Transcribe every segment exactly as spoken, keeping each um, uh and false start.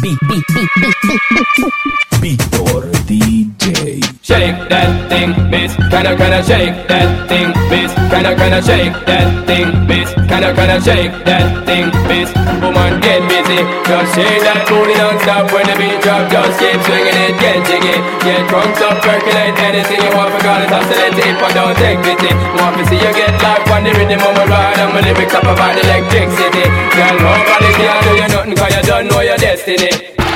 beat, beat, beat, beat, beat, beat. Víctor D J. Shake that thing, miss. Kinda, kinda shake that thing, miss. Kinda, kinda shake that thing, miss. Kinda, kinda shake that thing, miss. Woman, get busy. Just shake that booty non-stop when the beat drop. Just keep swinging it, get jiggy. Get drunk up, percolate anything you want. Forgot it, oscillate it, but don't take pity. Want to see you get live on the rhythm of my ride. And my lyrics up about electricity. Girl, nobody can do you nothing, cause you don't know your destiny.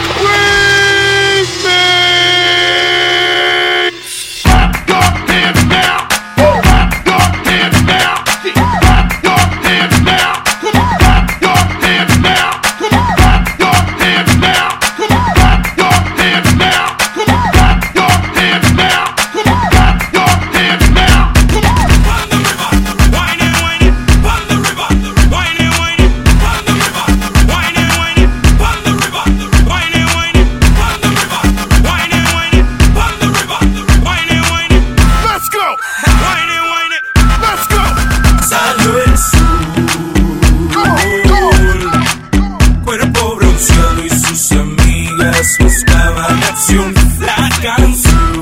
Buscaban acción, la canción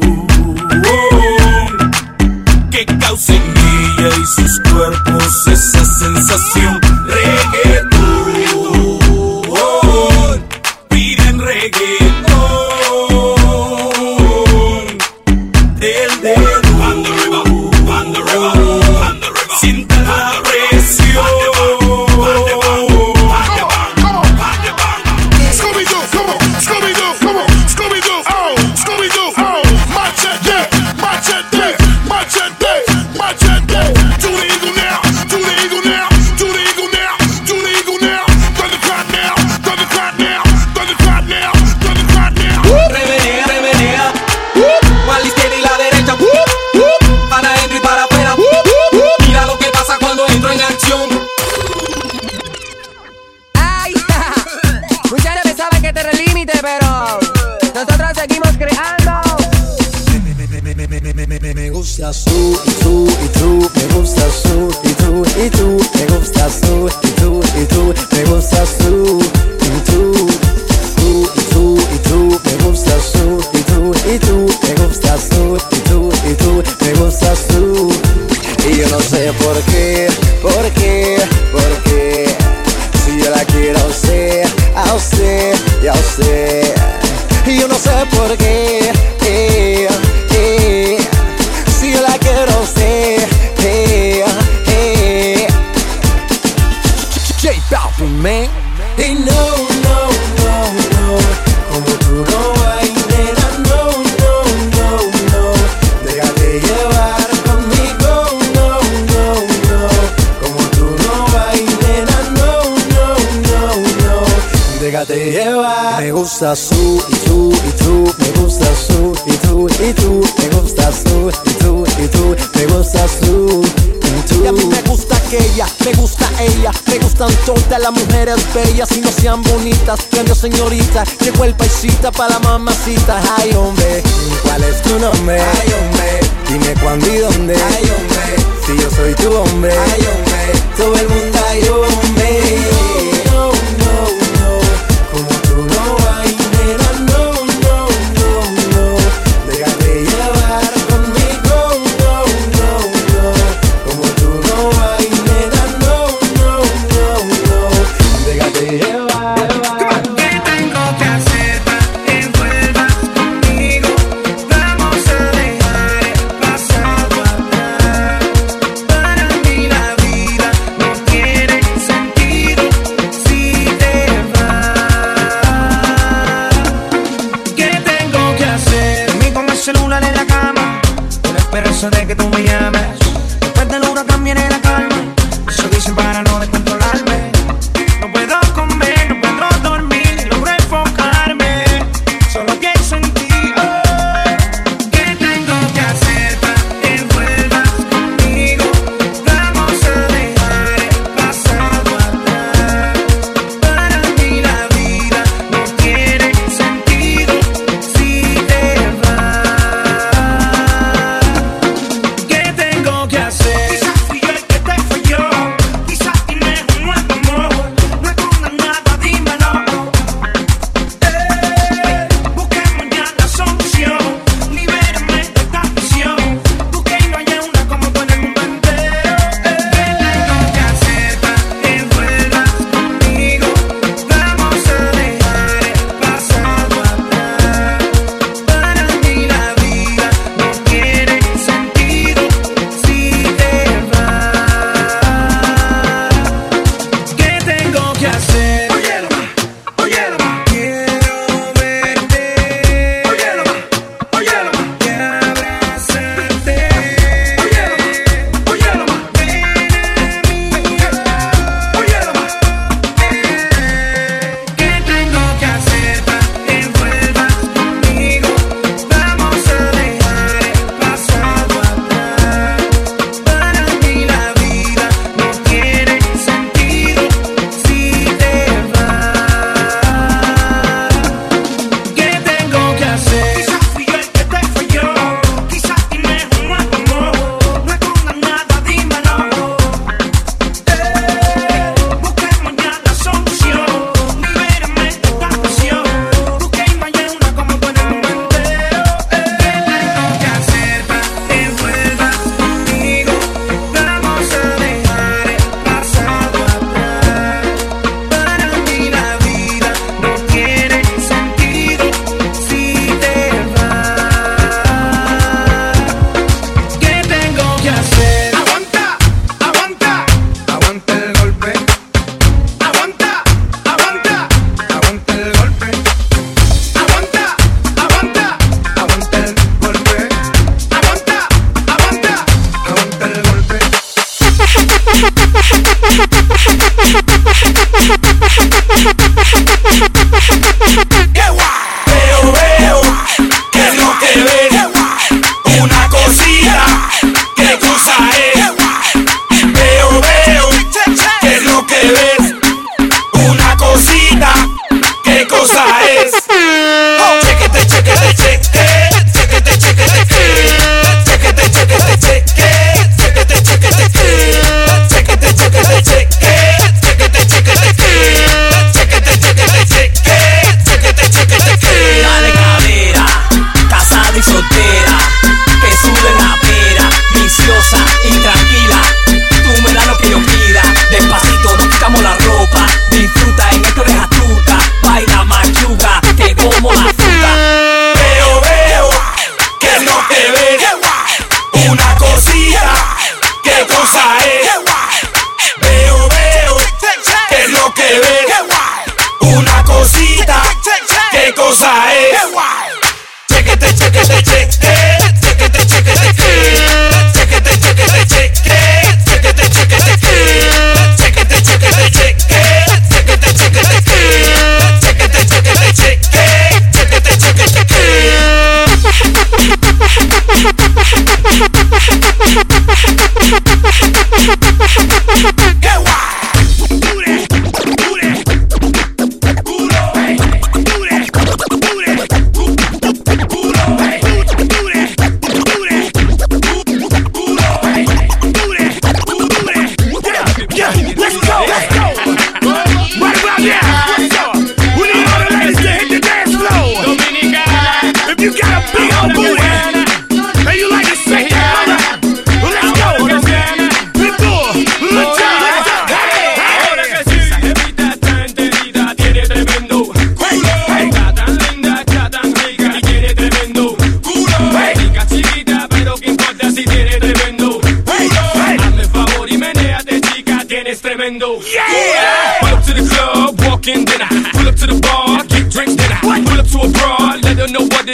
que causa en ella y sus cuerpos esa sensación. Reggaetón, piden reggaetón del dedo. Pan the river, pan the river, pan the river. Sienta la presión. Me gusta su y tú y tú, me gusta su y tú y tú, me gusta su y tú y tú, me gusta su y tú, tú y tú y tú, me gusta su y tú y tú, me gusta su y tú y tú, me gusta su. Y yo no sé por qué, por qué, por qué, si yo la quiero a usted, a usted y a usted. Y yo no sé por qué, eh, eh, si yo la quiero a usted, eh, eh. J Balvin, man. Y no, no, no, no, como tú no hay, nena, no, no, no, no. Déjate llevar conmigo, no, no, no. Como tú no hay, nena, no, no, no, no. Déjate llevar. Me gusta su y tú y tú, me gusta su y tú y tú, me gusta su y tú y tú, me gusta su y tú. Y a mí me gusta aquella, me gusta ella, me gustan todas las mujeres bellas y no sean bonitas, grandes señoritas, llegó el paisita para la mamacita. Ay hombre, ¿cuál es tu nombre? Ay hombre, dime cuándo y dónde. Ay hombre, si yo soy tu hombre. Ay hombre, todo el mundo ay hombre. No, no, no, como tú no hay, nena, no, no, no, no. Déjate llevar conmigo, no, no, no. Como tú no hay, nena, no, no, no, no. Déjate llevar. ¿Qué tengo que hacer para que vuelvas conmigo? Vamos a dejar el pasado atrás. Para mí la vida no tiene sentido si te vas. ¿Qué tengo que hacer? Dormí con el celular en la cama, con la esperanza de que tú me llames. Después del huracán viene la calma, eso dicen para no descontrolarme. No puedo comer, no puedo dormir, ni logro enfocarme. Solo pienso en ti. Oh, ¿qué tengo que hacer para que vuelvas conmigo? Vamos a dejar el pasado atrás. Para mí la vida no tiene sentido si te vas. ¿Qué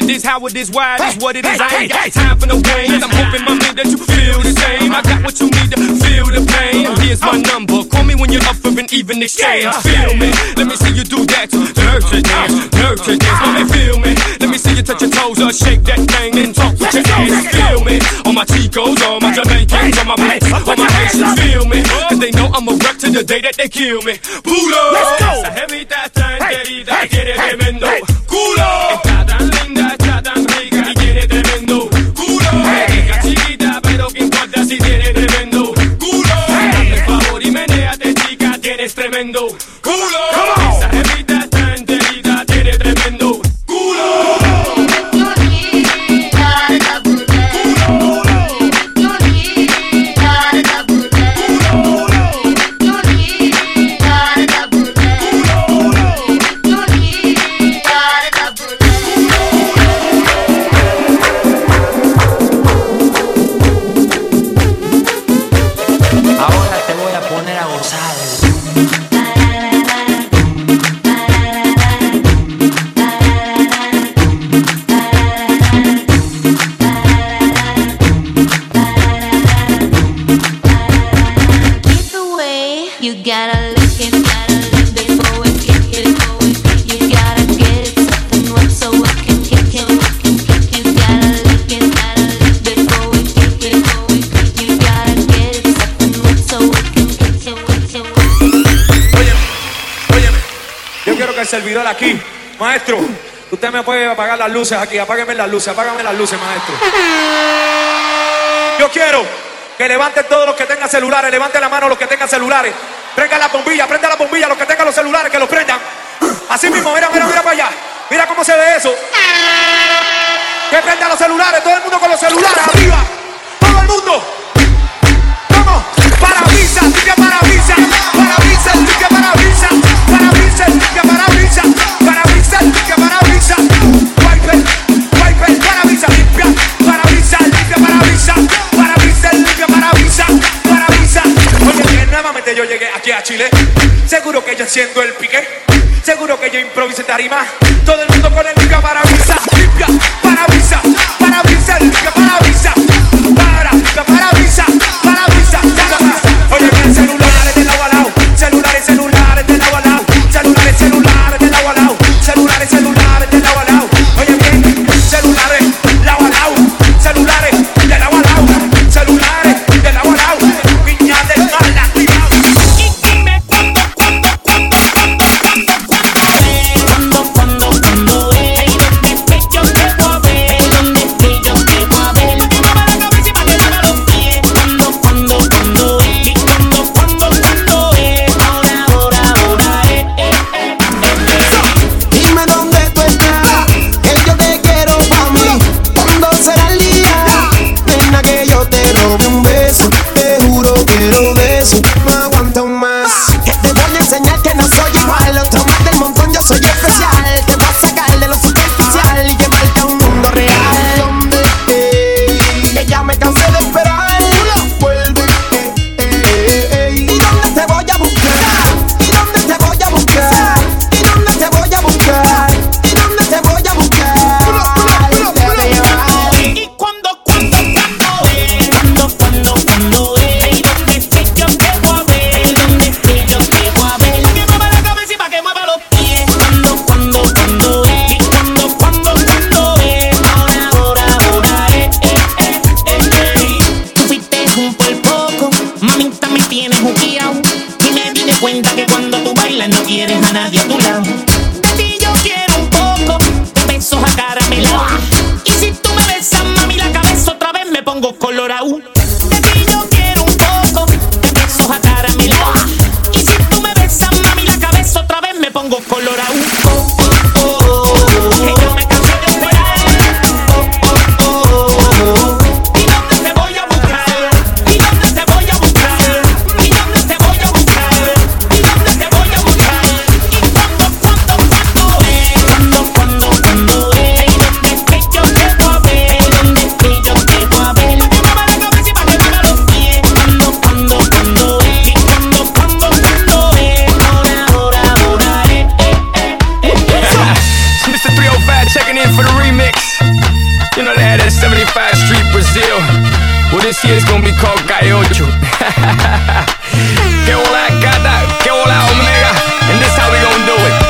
It is how it is, why it is what it is. I ain't got time for no games. I'm hoping, my man, that you feel the same. I got what you need to feel the pain. Here's my number. Call me when you're up for an even exchange. Feel me. Let me see you do that. Nurture dance, nurture dance. Let me feel me. Let me see you touch your toes or shake that thing and talk with your ass. Feel me. All my Chicos, all my Jamaicans, all my blacks, all my Haitians. Feel me. Cause they know I'm a wreck to the day that they kill me. Pulo. Let's go. Esa jevita tan querida tiene tremendo culo. Está tan linda, está tan rica y tiene tremendo culo. Rica chiquita, pero que importa si tiene tremendo culo. Hazme el favor y menéate, chica, tienes tremendo culo. Esa jevita tan querida tiene tremendo culo. Servidor aquí, maestro, usted me puede apagar las luces aquí, apágueme las luces, apágame las luces, maestro. Yo quiero que levanten todos los que tengan celulares, levanten la mano los que tengan celulares, prendan la bombilla, prendan la bombilla, los que tengan los celulares, que los prendan. Así mismo, mira, mira, mira para allá, mira cómo se ve eso. Que prendan los celulares, todo el mundo con los celulares, arriba, todo el mundo. Vamos, parabrisas, limpia parabrisas, parabrisas, limpia parabrisas, parabrisas, limpia parabrisas, parabrisas, limpia parabrisas, wiper, wiper, parabrisas, limpia parabrisas, limpia parabrisas, parabrisas, limpia parabrisas, parabrisas. Oye, bien, nuevamente yo llegué aquí a Chile, seguro que yo siendo el piqué, seguro que yo improvisé tarima, todo el mundo con el limpia parabrisas, limpia parabrisas, parabrisas, limpia parabrisas, para, limpia parabrisas, parabrisas, oye, bien, celulares del agua al lado, celulares, celulares del agua al lado, celulares, celulares del agua al lado, celulares, celulares del agua al lado, oye, bien, celulares, lado al lado, celulares del agua al lado, celulares del agua al lado, piñas del mal activado. Y dime cuándo, cuándo, cuándo, cuándo, cuándo, cuándo, cuándo, cuándo, ey, ¿dónde es que yo te voy a ver? ¿Dónde es que yo te voy a ver? Pa' que mueva la cabeza y pa' que mueva los pies. Cuando, cuando, cuando, ey, cuando, cuando, cuando, ey, ahora, ahora, ahora, eh, eh, eh, eh. Dime dónde tú estás, que yo te quiero pa' mí. ¿Cuándo será el día? Nena, que yo te robe un beso. Te juro quiero de eso, no aguanto más. Que te voy a enseñar que no soy igual. Otro más del montón, yo soy especial. Te voy a sacar de lo superficial y llevarte a un mundo real. ¿Dónde? Eh, que ya me cansé de esperar. Vuelve, eh, eh, eh, eh. ¿Y dónde te voy a buscar? ¿Y dónde te voy a buscar? ¿Y dónde te voy a buscar? ¿Y dónde te voy a buscar? Déjame llevar. Y cuando, cuando, cuando, eh, cuando, cuando, cuando, eh, ¿dónde es que yo te voy a ver? ¿Dónde es que yo te voy a ver? Pa' que mueva la cabeza y pa' que mueva los pies. Cuando, cuando, cuando, eh, cuando, cuando, cuando, eh, ahora, ahora, ahora, eh, eh, eh, eh, eh. Tú fuiste un por poco, mamita me tienes juqueado. Y me di de cuenta que cuando tú bailas no quieres a nadie a tu lado. De ti yo quiero un poco, de besos acaramelados. Y si tú me besas, mami, la cabeza otra vez me pongo colorado. De ti yo quiero un poco, de besos acaramelados. Y si tú me besas, mami, la cabeza otra vez me pongo colorado. Oh, oh, oh, oh, que yo me cansé de esperar. Oh, oh, oh, oh. ¿Y dónde te voy a buscar? ¿Y dónde te voy a buscar? ¿Y dónde te voy a buscar? ¿Y dónde te voy a buscar? ¿Y cuándo, cuándo, cuándo, eh? Cuando, cuando, cuando, eh? ¿Dónde es que yo te voy a ver? ¿Dónde es que yo te voy a ver? Pa' que mueva la cabeza y pa' que mueva los pies. Cuando, cuando, cuando, eh? Cuando, cuando, cuando, eh? Ahora, ahora, ahora, eh, eh, eh, eh, eh. Mister three oh five checking in for the remix. You know they had that seventy-five Street Brazil. Well, this year's gonna be called Calle Ocho. Que hola gata, que hola omega. And this how we gonna do it.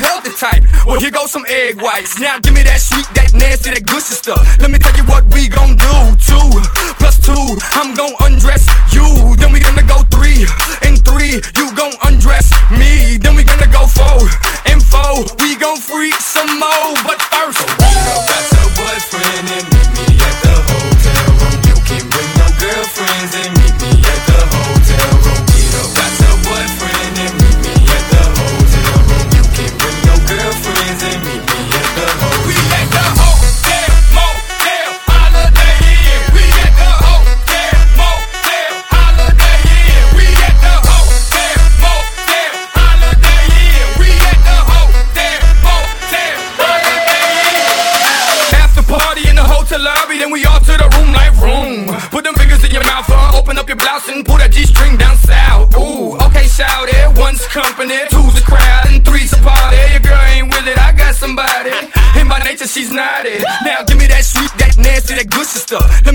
love the type. Well, here goes some egg whites. Now give me that sweet, that nasty, that good stuff. Let me tell you what we gon' do. Two plus two, I'm gon' undress you. Then we gonna go three and three, you gon' undress me. Then we gonna go four and four, we gon' freak some more. But first, got your boyfriend and meet me at the hotel room. You can bring your girlfriends and meet me at the hotel room. Get up, got your boyfriend and meet me at the hotel room. You can bring your girlfriends and meet me at the hotel room. We at the hotel, motel, Holiday Inn. We at the hotel, motel, Holiday Inn. We at the hotel, motel, Holiday Inn. We at the hotel, motel, Holiday Inn. After party in the hotel lobby, then we all to the room like room. Put them fingers in your mouth, uh, open up your blouse and pull that G-string down south. Ooh, okay, shout it. One's company, two's a crowd, and three's a party. Your girl ain't with it, I got somebody. In my nature, she's naughty. Now give me that sweet, that nasty, that good stuff.